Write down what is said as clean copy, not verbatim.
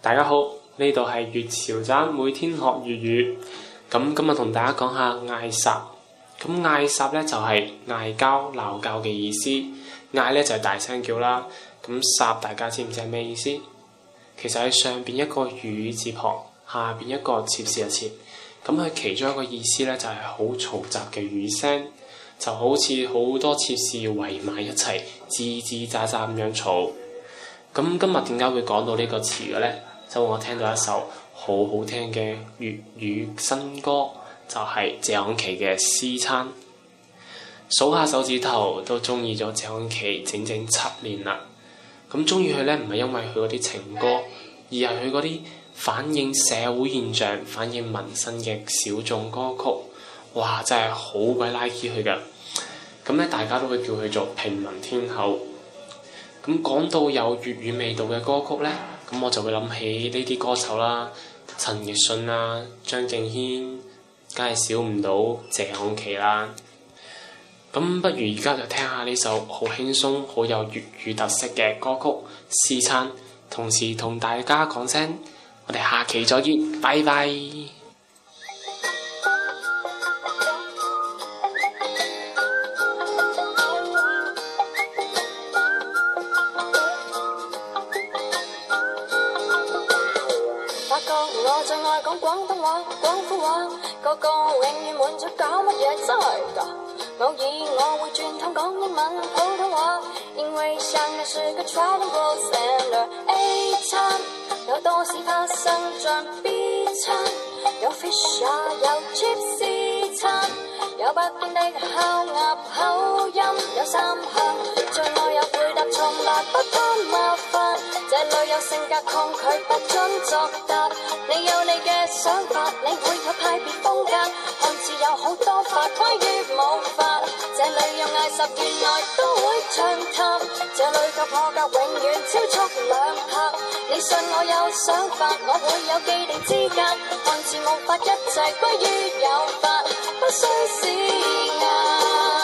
大家好，呢度係粵潮站，每天學粵語。咁今日同大家講下嗌霎。咁嗌霎咧就係嗌交、鬧交嘅意思。嗌咧就係大聲叫啦。咁霎大家知唔知係咩意思？其實喺上邊一個雨字旁，下邊一個切事嘅切。咁佢其中一個意思咧就係好嘈雜嘅雨聲，就好似好多切事圍埋一齊，吱吱喳喳咁樣嘈。咁今日點解會講到呢個詞嘅咧？就我聽到一首好好聽嘅粵語新歌，就係謝安琪嘅《私餐》。數下手指頭都中意咗謝安琪整整7年啦。咁中意佢咧，唔係因為佢嗰啲情歌，而係佢嗰啲反映社會現象、反映民生嘅小眾歌曲。哇！真係好鬼 like 佢㗎。咁咧，大家都會叫佢做平民天后。咁講到有粵語味道嘅歌曲咧，咁我就會諗起呢啲歌手啦，陳奕迅啦、張敬軒，梗係少唔到謝安琪啦。咁不如而家就聽下呢首好輕鬆、好有粵語特色嘅歌曲《私餐》，同時同大家講聲，我哋下期再見，拜拜。 發覺我最愛講廣東話、廣府話，個個永遠滿足搞乜嘢真係㗎。偶爾我會轉通講英文、普通話，因為想的是個 trilingual standard A 餐，有多事發生像 B 餐，有 fish 有 chips 餐，有不斷的烤鴨口音，有三向，最愛有回答從來不怕麻煩，這裏有性格抗拒不准作答，你有你嘅想法，你會有派別風格，看似有好多法關於冇法，這裏有嗌霎原來都會長談，這裏個破格永遠超速兩拍，你信我有想法，我會有既定資格，看似無法一切歸於有法，不需時間。